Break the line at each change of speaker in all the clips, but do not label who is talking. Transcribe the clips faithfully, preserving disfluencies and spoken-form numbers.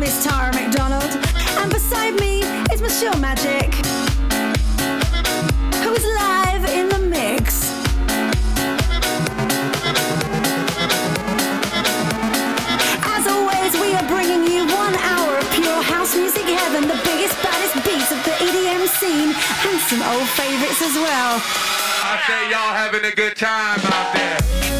Miss Tara McDonald, and beside me is Monsieur Magic, who is live in the mix. As always, we are bringing you one hour of pure house music heaven, the biggest, baddest beats of the E D M scene, and some old favourites as well.
I say y'all having a good time out there.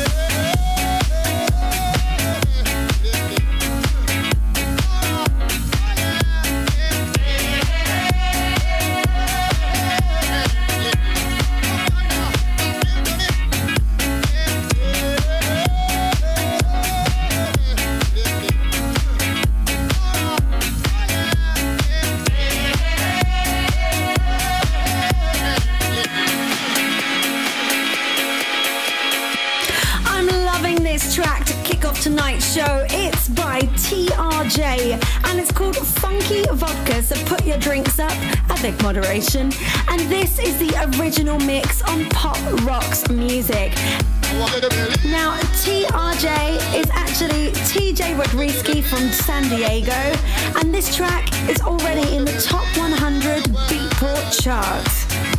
Tonight's show, it's by T R J and it's called Funky Vodka, so put your drinks up, avec moderation, and this is the original mix on Pop Rocks Music. Now T R J is actually T J Rodriguez from San Diego, and this track is already in the top one hundred Beatport chart.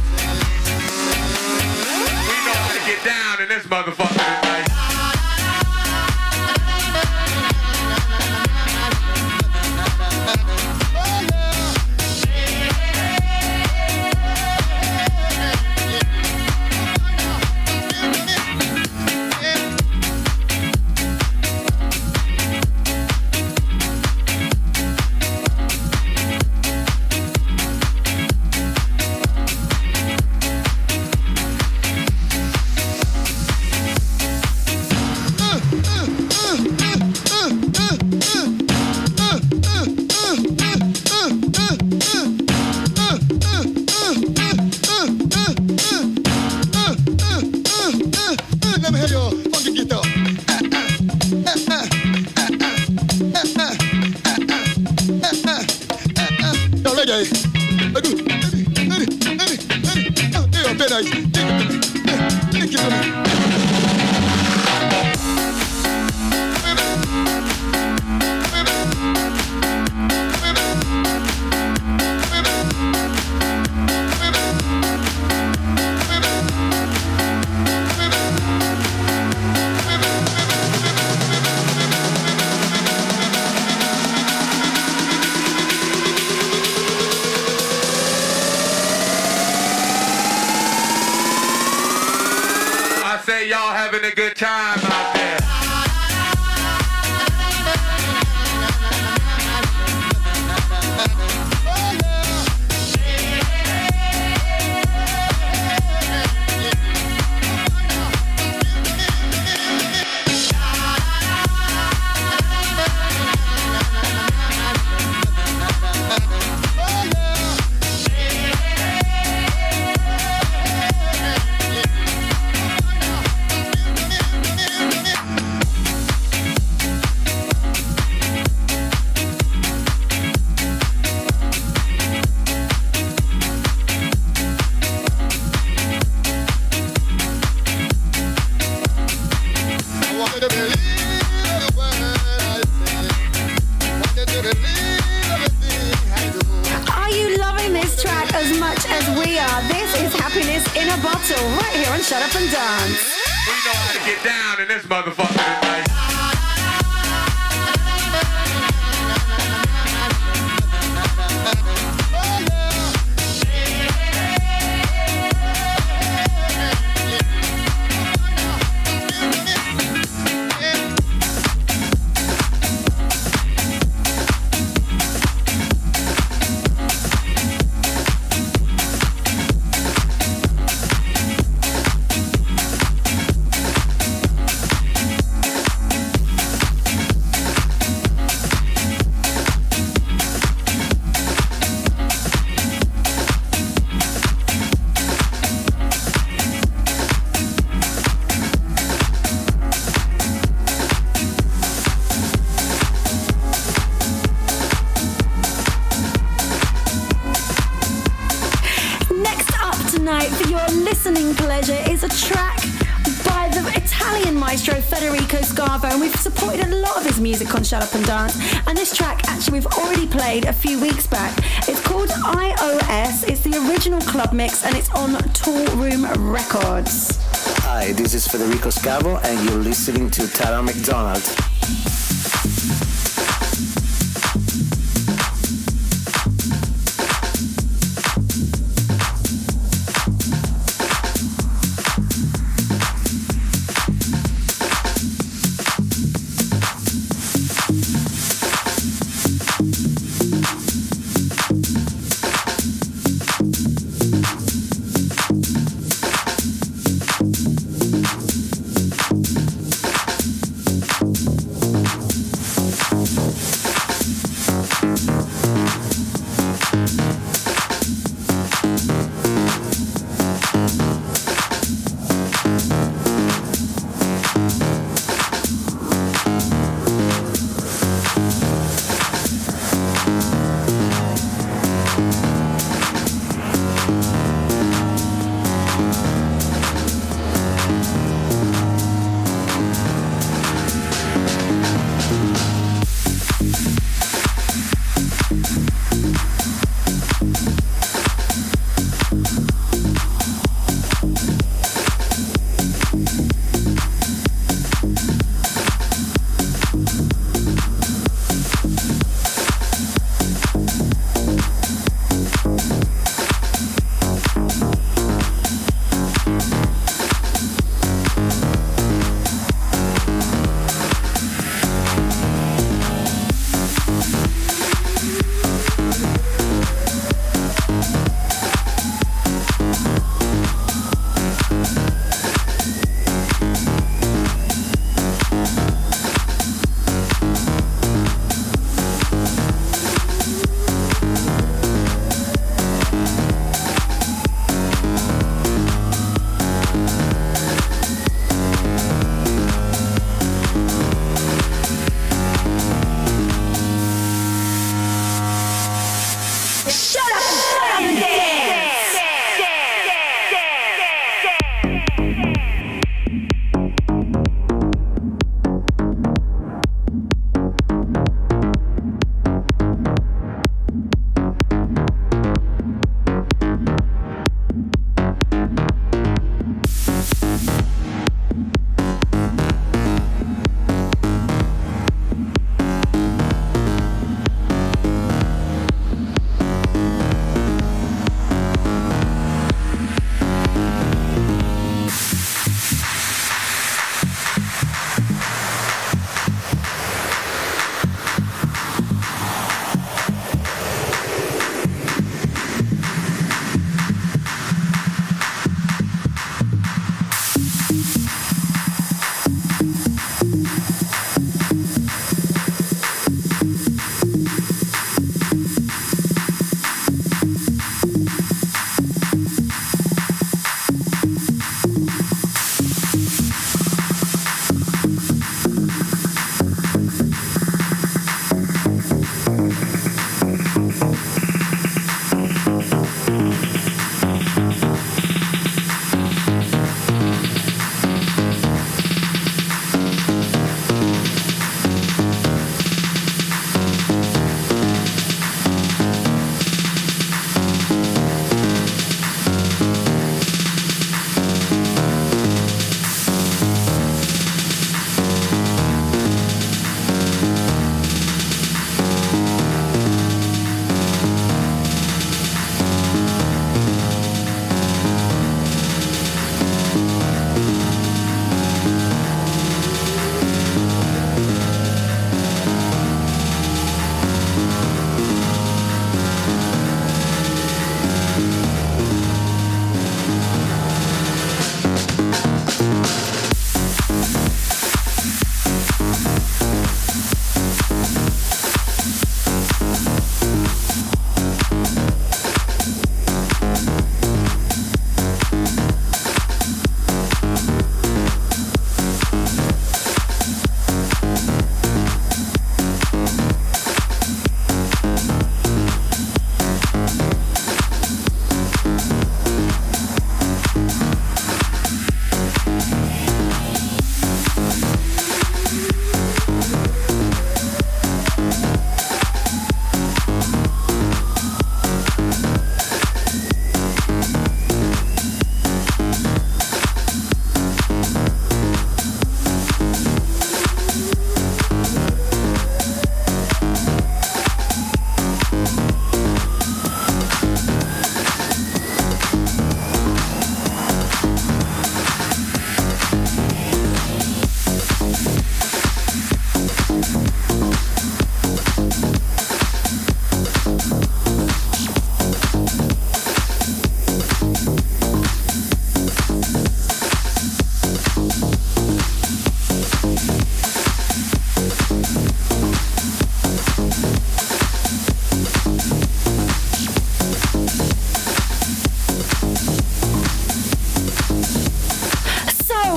We know how to get down in this motherfucker tonight. Y'all having a good time out there.
Shut up and dance.
We know how to get down in this motherfucker tonight.
maestro Federico Scavo, and we've supported a lot of his music on Shut Up and Dance. And this track, actually, we've already played a few weeks back. It's called I O S. It's the original club mix, and it's on Tool Room Records.
Hi, this is Federico Scavo, and you're listening to Tara McDonald.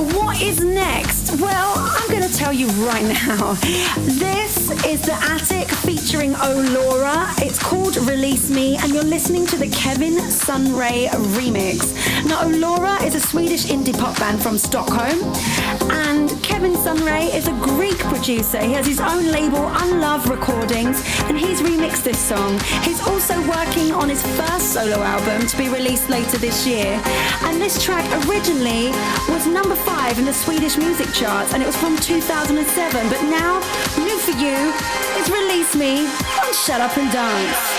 So what is next? Well, I'm going to tell you right now. This is The Attic featuring O'Laura. It's called Release Me, and you're listening to the Kevin Sunray remix. Now, O'Laura is a Swedish indie pop band from Stockholm, and Kevin Sunray is a Greek producer. He has his own label, Unlove Recordings, and he's remixed this song. He's also working on his first solo album to be released later this year. And this track originally was number five in the Swedish music charts, and it was from two thousand seven. But now, new for you is Release Me on Shut Up and Dance.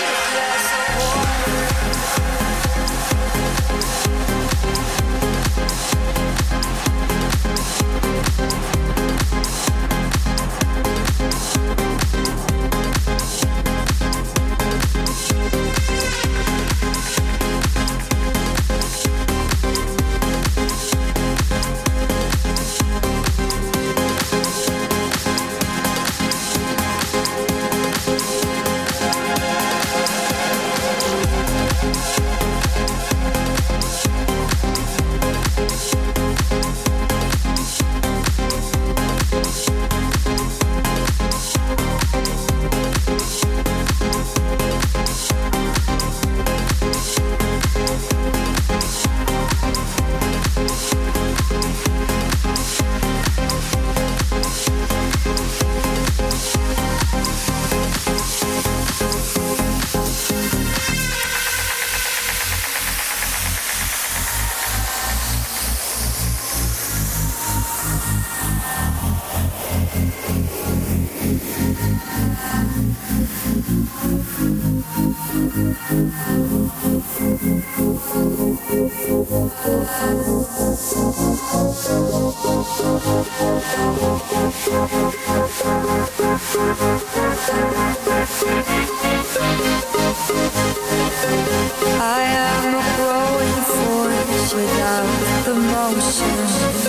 I am a growing force without the motion.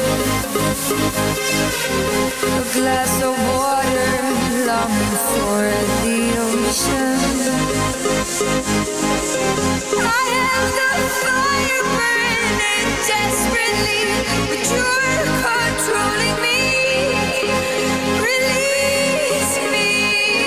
A glass of water longing for the ocean. I am the fire burning desperately, but you're controlling me. Release me.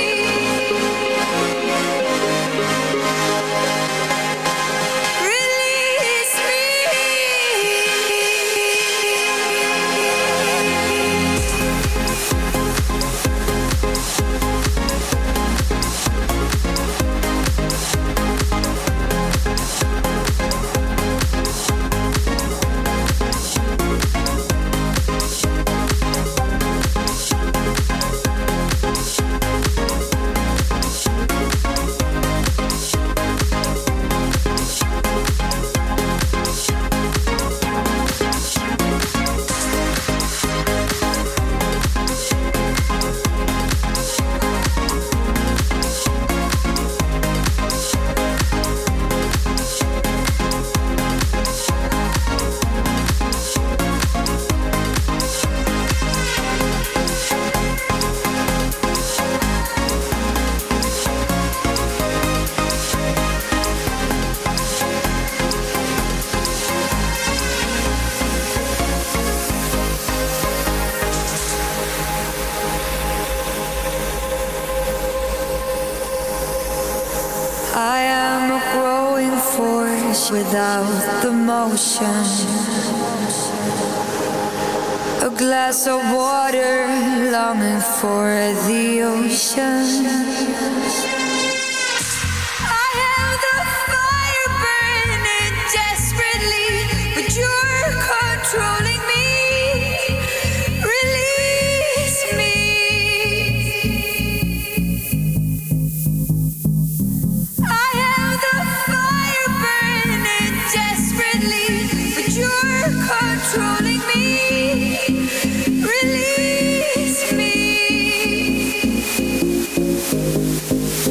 I am a growing force without the motion. A glass of water longing for the ocean. I am the fire burning desperately, but you're controlling me. Release me. I am the fire burning desperately, but you're controlling me. Release me.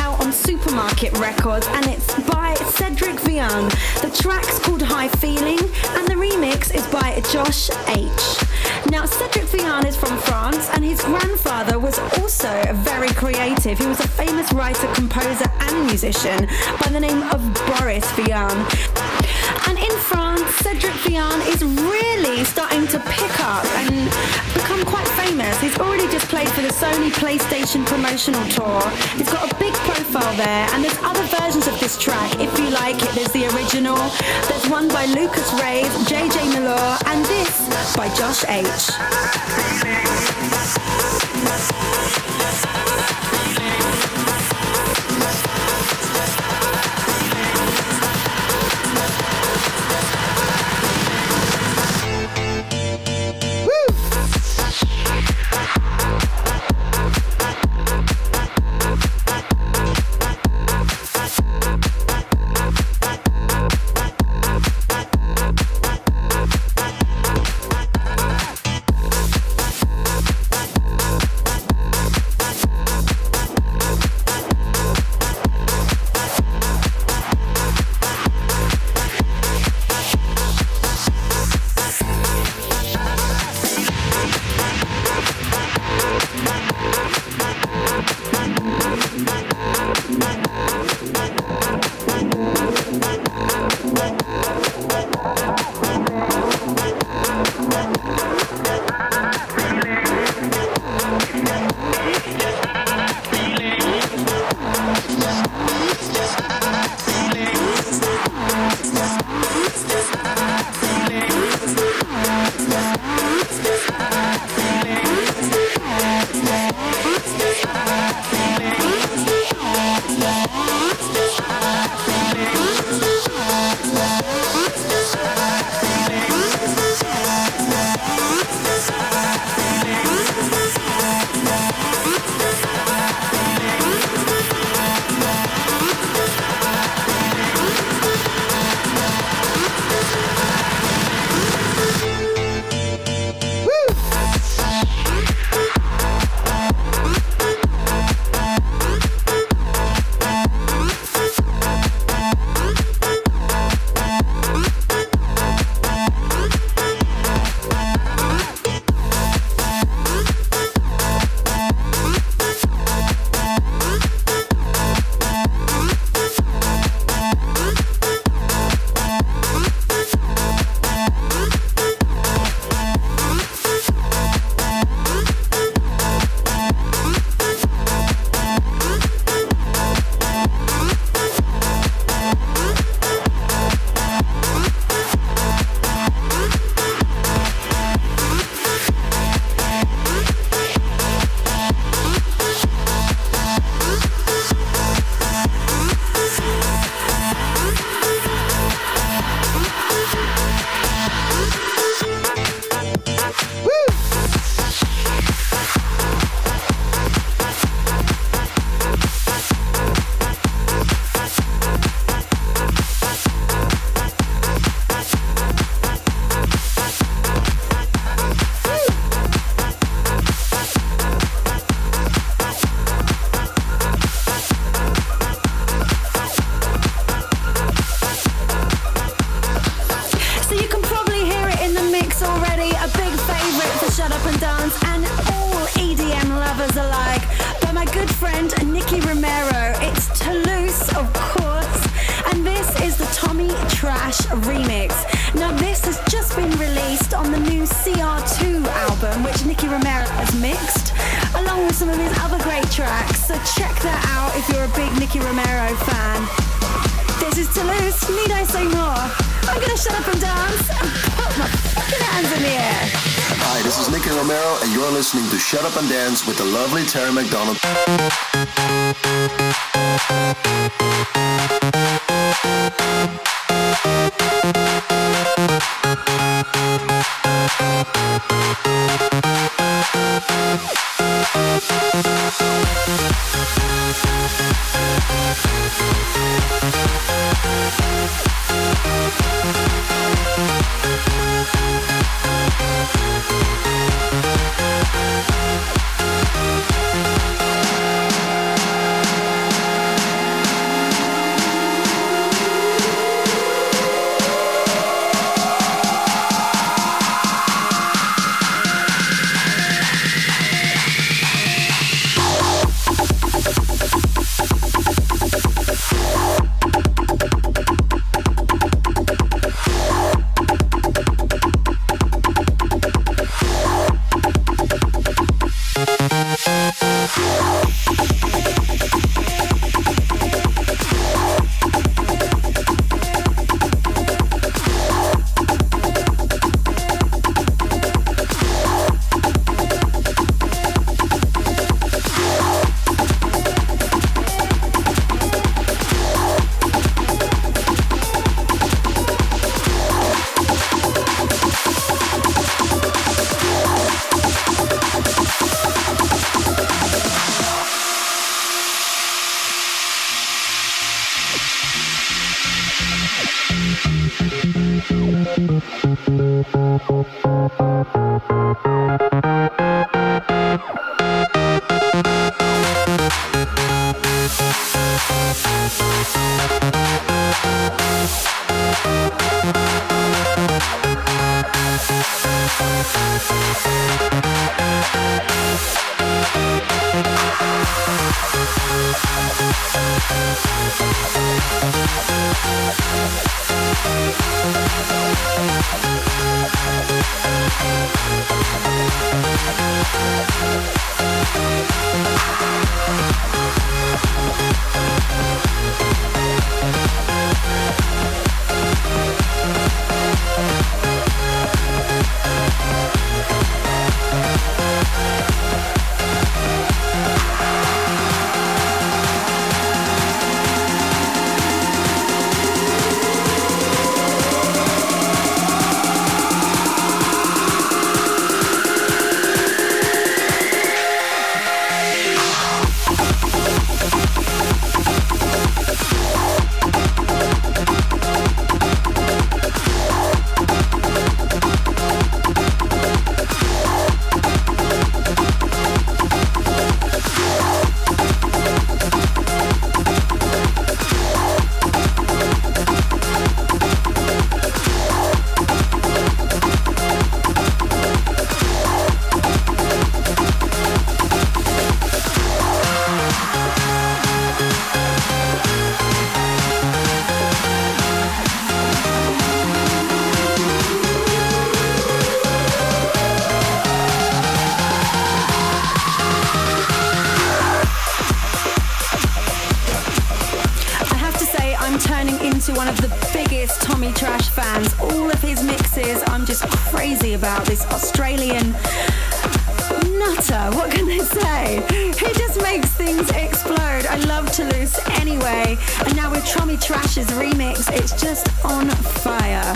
out on Supermarket Records, and it's by Cedric Vian. The track's called High Feeling, and the remix is by Josh H. Now, Cedric Vian is from France, and his grandfather was also very creative. He was a famous writer, composer, and musician by the name of Boris Vian. And in France, Cedric Vian is really starting to pick up and become quite famous. He's already just played for the Sony PlayStation promotional tour. He's got a big profile there, and there's other versions of this track if you like it. There's the original, there's one by Lucas Rave, J J Malore, and this by Josh H. Remix. Now this has just been released on the new C R two album, which Nicky Romero has mixed, along with some of his other great tracks, so check that out if you're a big Nicky Romero fan. This is Toulouse, need I say more? I'm gonna shut up and dance and put my fucking hands in the air.
Hi, this is Nicky Romero and you're listening to Shut Up and Dance with the lovely Tara McDonald.
One of the biggest Tommy Trash fans. All of his mixes, I'm just crazy about this Australian nutter. What can I say? He just makes things explode. I love Toulouse anyway. And now with Tommy Trash's remix, it's just on fire.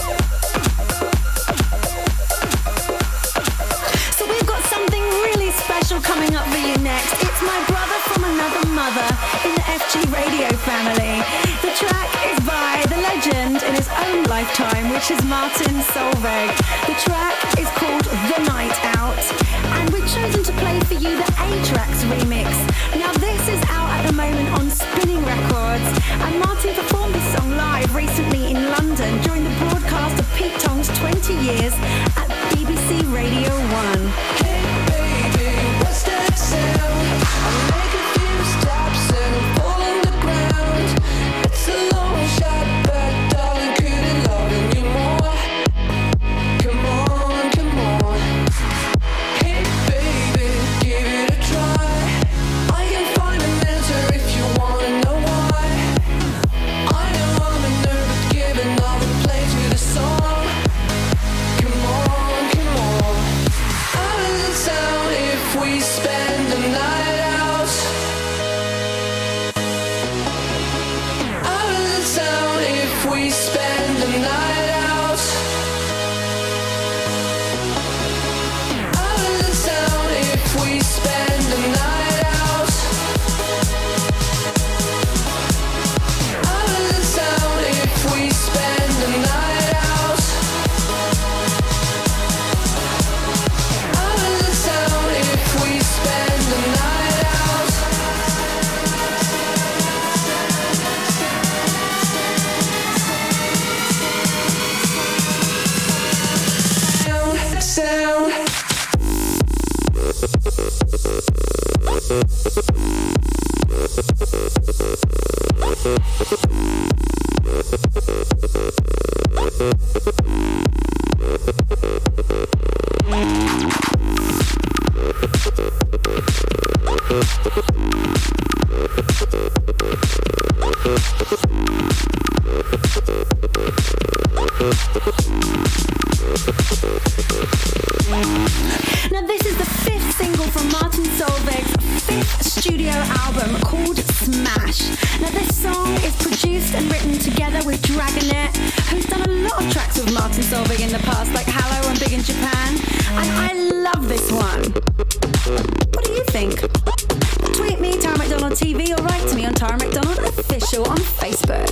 So we've got something really special coming up for you next. It's my brother from another mother in the F G Radio family. The track is by the legend in his own lifetime, which is Martin Solveig. The track is called The Night Out, and we've chosen to play for you the A-Tracks remix. Now this is out at the moment on Spinning Records, and Martin performed this song live recently in London during the broadcast of Pete Tong's twenty years at B B C Radio one.
Hey baby, what's that sound? I make a few stops and I fall on the ground. It's a long shot, but darling, couldn't love you more. Come on, come on. Hey baby, give it a try. I can find an answer if you wanna know why. I know I'm a nerd, but giving all the play to the song. Come on, come on. Out of the town if we spend the night out. Out of the town if we spend the night out. Out of the town if we spend the night out. Out of the town if we spend the night out. Out of the town if we spend the night out. Sound, sound.
Now this is the fifth single from Martin Solveig's fifth studio album called Smash. Now this song is produced and written together with Dragonet, who's done a lot of tracks with Martin Solveig in the past, like Hello and Big in Japan, and I love this one. What do you think? Tweet me, Tara McDonald T V, or write to me on Tara McDonald Sound Official on Facebook.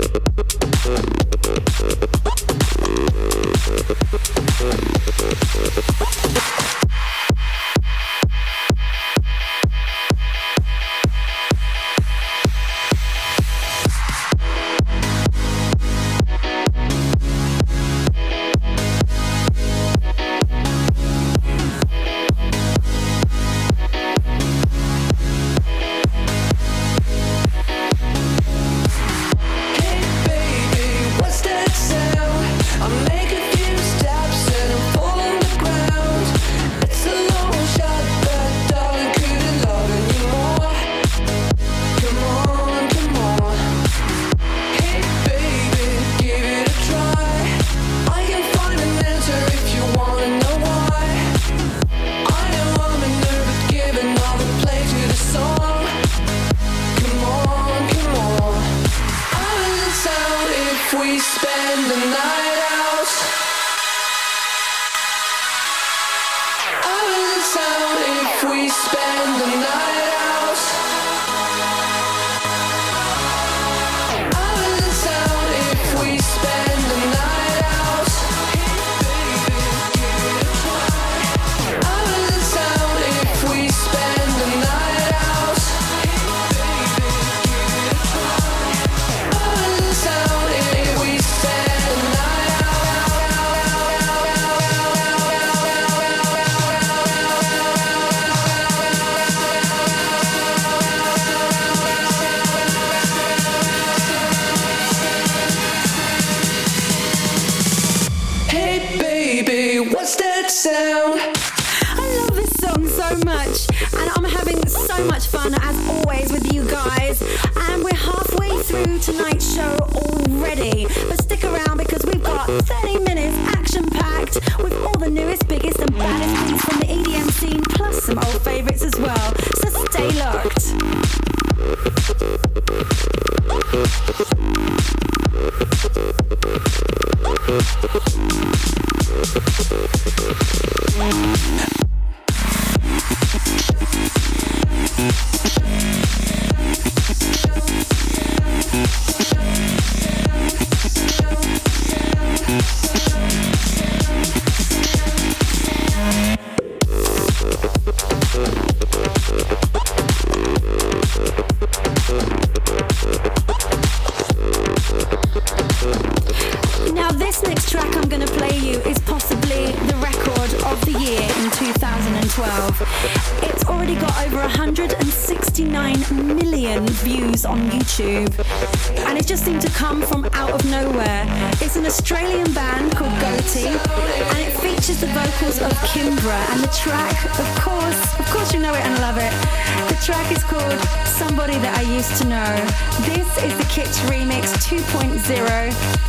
And it just seemed to come from out of nowhere. It's an Australian band called Goatee, and it features the vocals of Kimbra, and the track, of course, of course you know it and love it. The track is called Somebody That I Used to Know. This is the Kitsch Remix two point oh.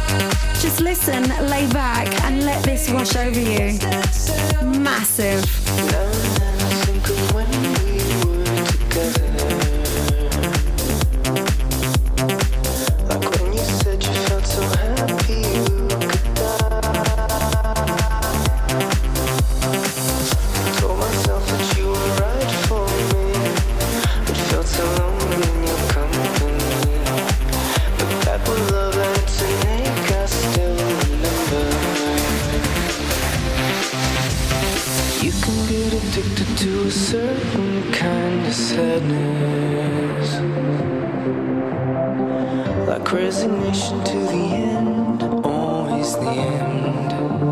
Just listen, lay back, and let this wash over you. Massive.
Resignation to the end, always the end.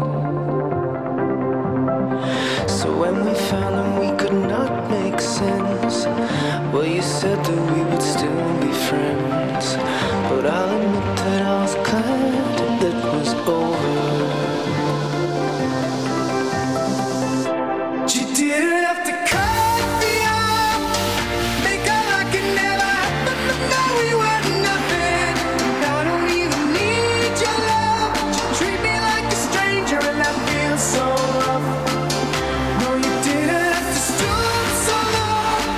So when we found that we could not make sense, well, you said that we would still be friends. But I'll admit that I was glad that it was over. You didn't have to cut me off, make out like it never happened, but now we were nothing. Now I don't even need your love. You treat me like a stranger and that feels so rough. No, you didn't have to stoop so low.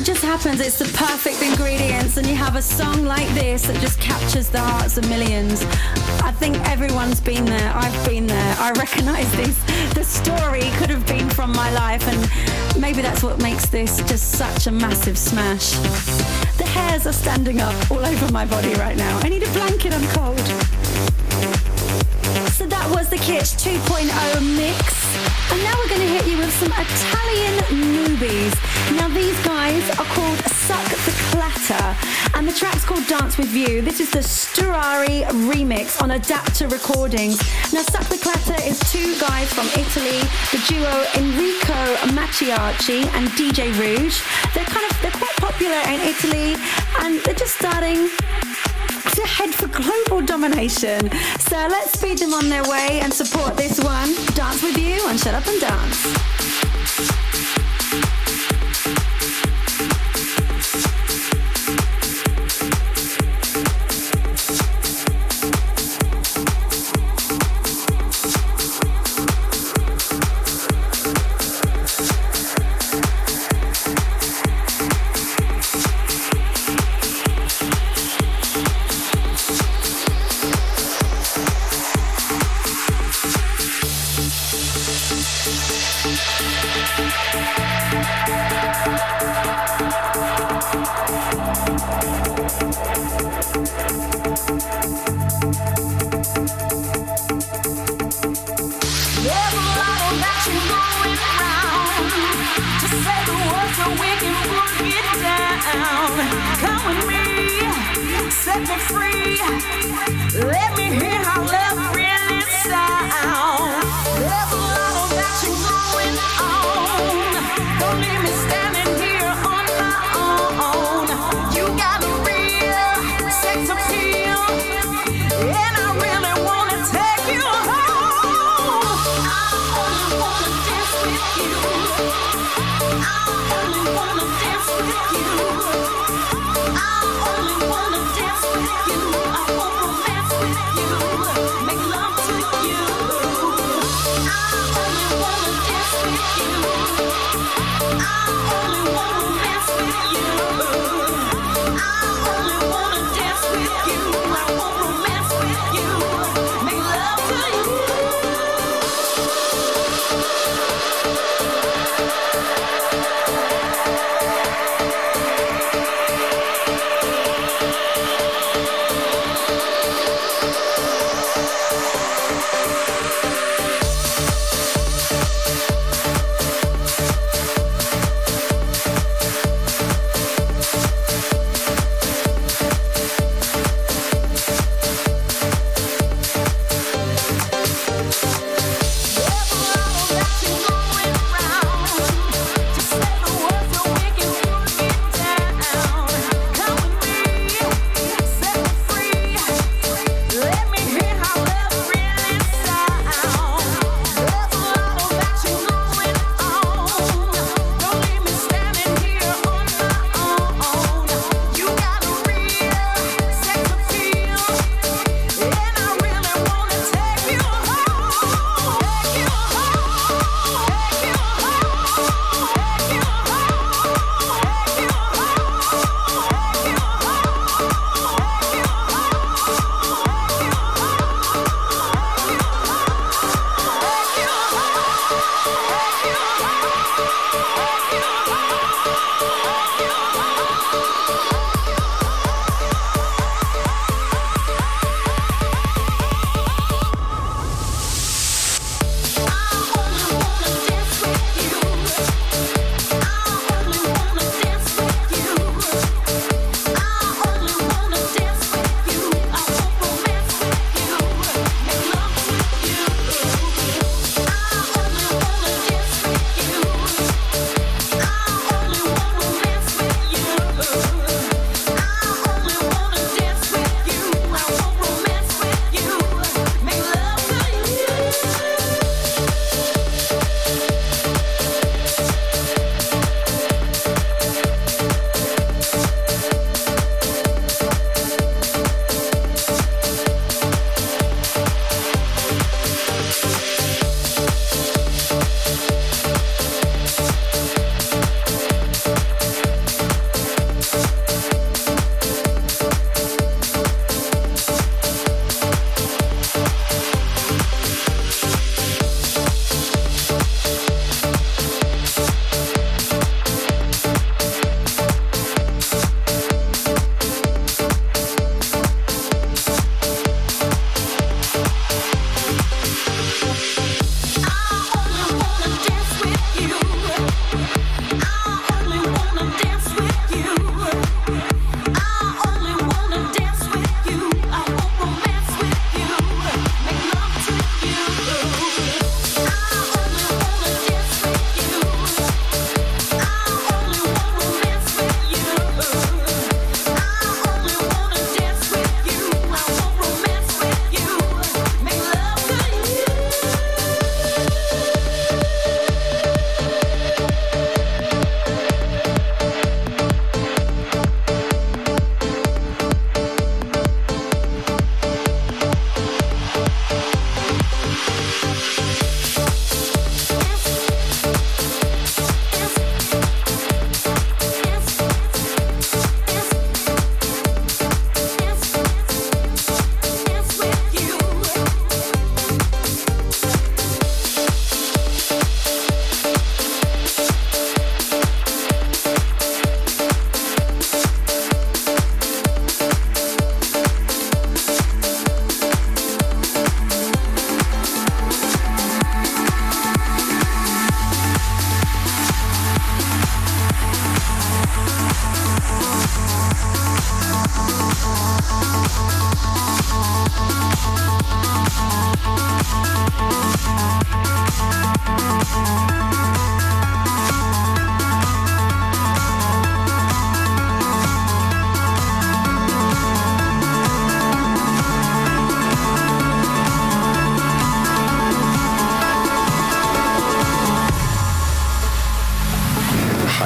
it just happens. It's the perfect ingredients, and you have a song like this that just captures the hearts of millions. I think everyone's been there. I've been there. I recognise this. The story could have been from my life, and maybe that's what makes this just such a massive smash. The hairs are standing up all over my body right now. I need a blanket, I'm cold. So that was the Kitsch two point oh mix. And now we're going to hit you with some Italian newbies. Now these guys are called Suck the Clatter, and the track's called Dance With You. This is the Sturari remix on Adapter Recordings. Now Suck the Clatter is two guys from Italy, the duo Enrico Macchiacci and D J Rouge. They're kind of, they're quite popular in Italy, and they're just starting to head for global domination. So let's speed them on their way and support this one. Dance With You on Shut Up and Dance.
I only wanna dance with you.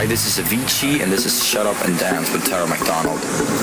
this is Avicii, and this is Shut Up and Dance with Tara McDonald.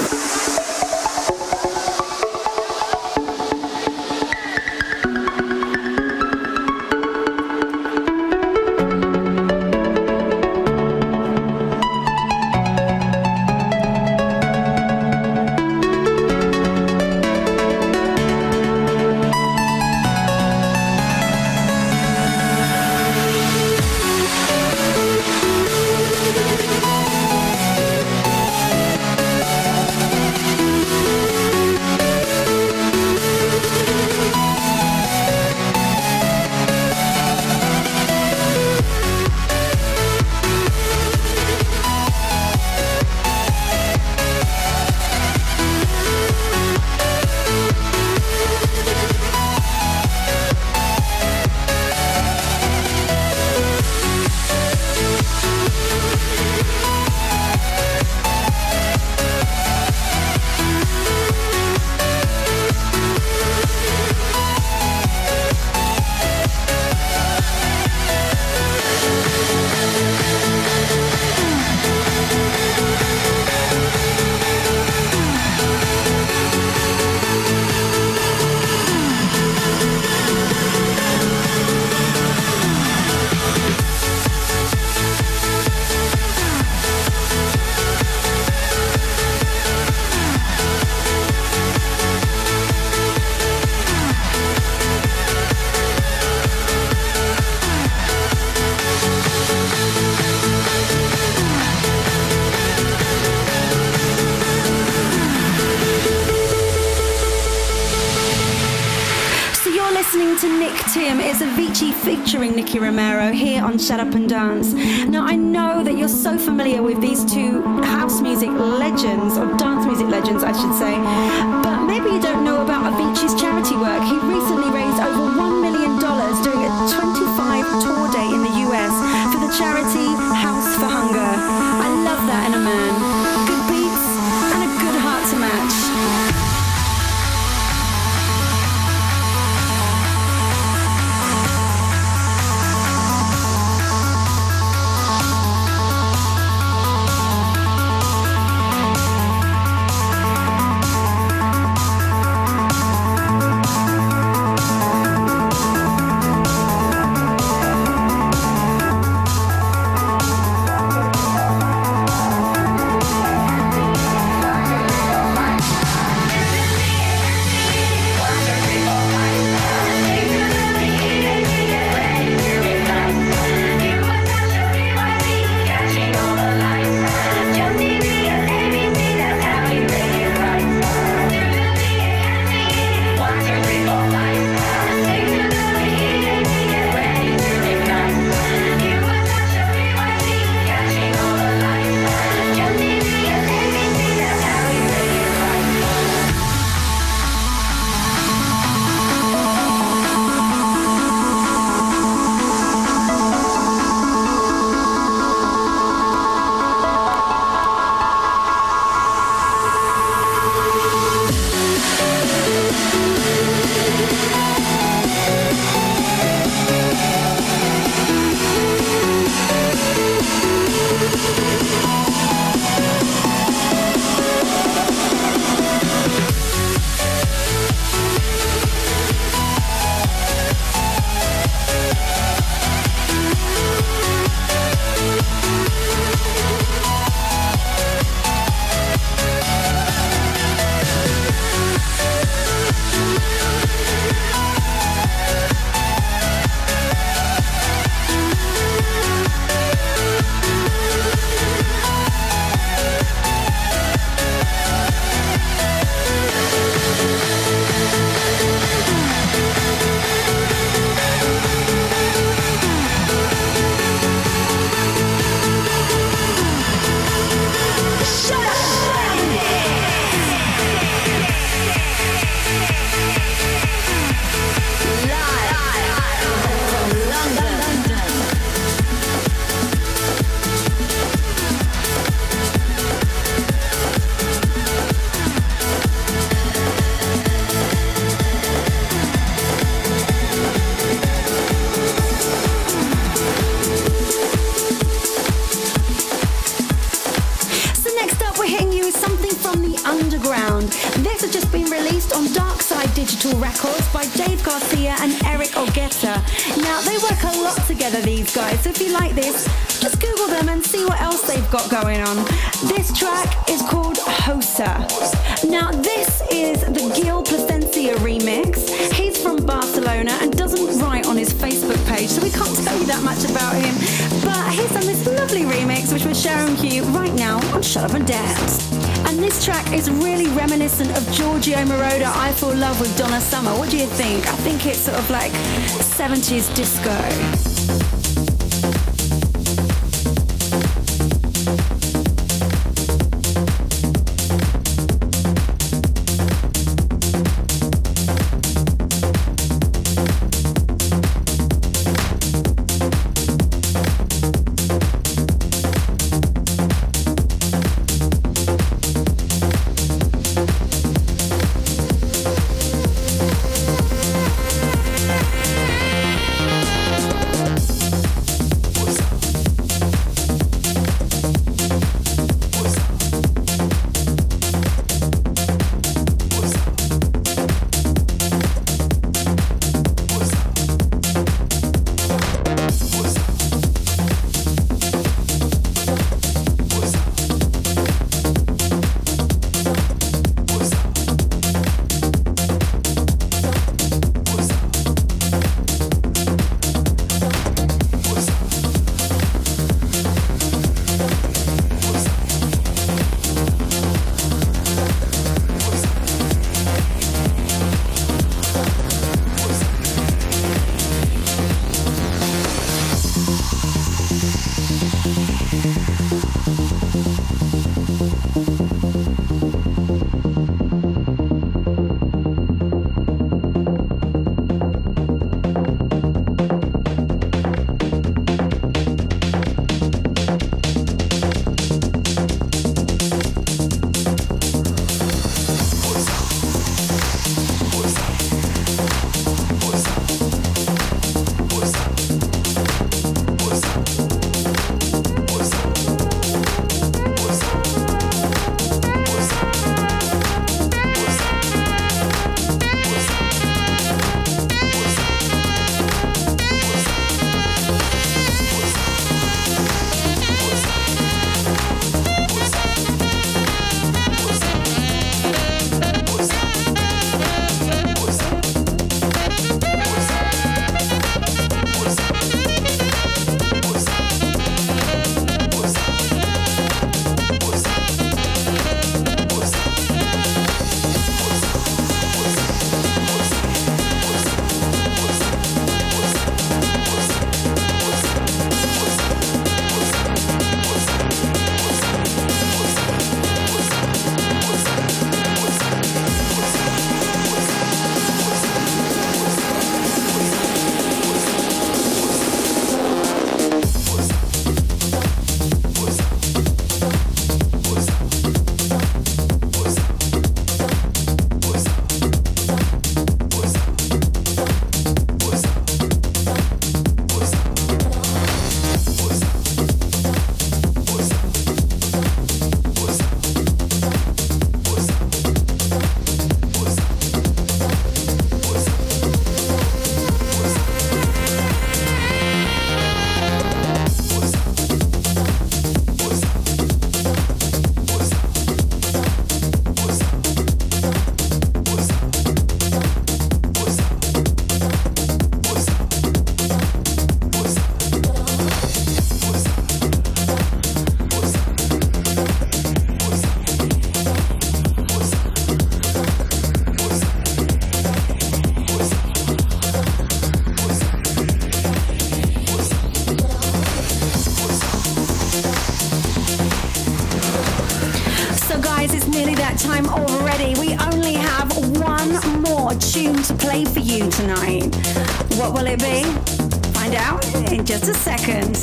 Featuring Nicky Romero here on Shut Up and Dance. Now I know that you're so familiar with these two house music legends, or dance music legends I should say, but maybe you don't know about Avicii's charity work. He recently raised over one million dollars during a twenty-five tour day in the U S for the charity House for Hunger. I love that in a man. Good beats and a good heart to match. This has just been released on Dark Side Digital Records by Dave Garcia and Eric Ogeta. Now, they work a lot together, these guys, so if you like this, just Google them and see what else they've got going on. This track is called Hosa. Now, this is the Gil Placencia remix. He's from Barcelona and doesn't write on his Facebook page, so we can't tell you that much about him. But he's done this lovely remix, which we're sharing to you right now on Shut Up and Dance. And this track is really reminiscent of Giorgio Moroder, I Feel Love with Donna Summer. What do you think? I think it's sort of like seventies disco. Time already. We only have one more tune to play for you tonight. What will it be? Find out in just a second.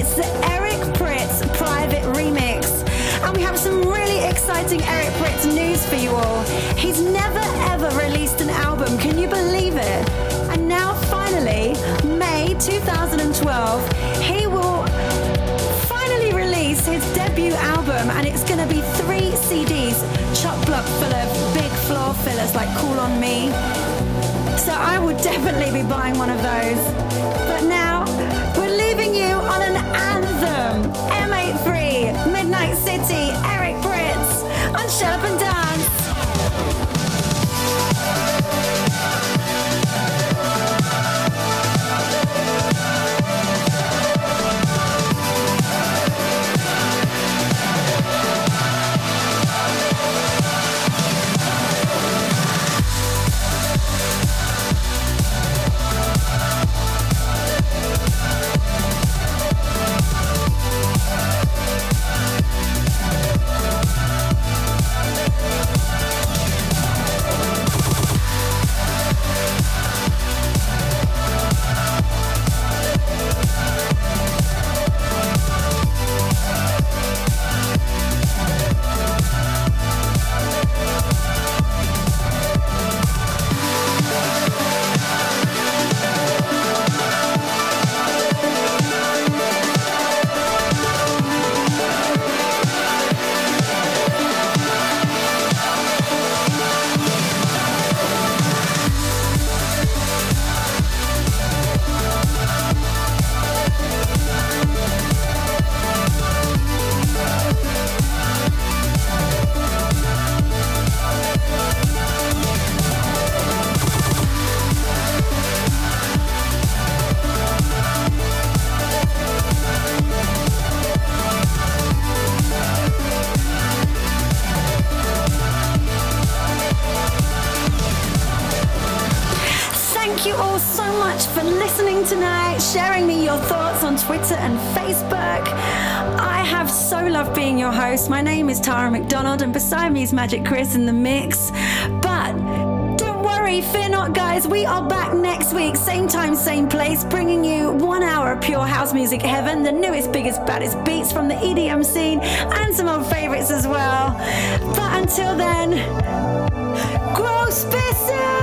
It's the Eric Prydz private remix. And we have some really exciting Eric Prydz news for you all. He's never ever released an album, can you believe it? And now finally, May twenty twelve, he will finally release his debut album, and it's going to be three C Ds, chock-block full of big floor fillers like Cool on Me. So I would definitely be buying one of those. But now, we're leaving you on an anthem. M eighty-three, Midnight City, Eric Prydz on Shut Up and Dance. Tonight, sharing me your thoughts on Twitter and Facebook. I have so loved being your host. My name is Tara McDonald, and beside me is Magic Chris in the mix. But don't worry, fear not, guys. We are back next week, same time, same place, bringing you one hour of pure house music heaven, the newest, biggest, baddest beats from the E D M scene, and some old favorites as well. But until then, grow spitzer!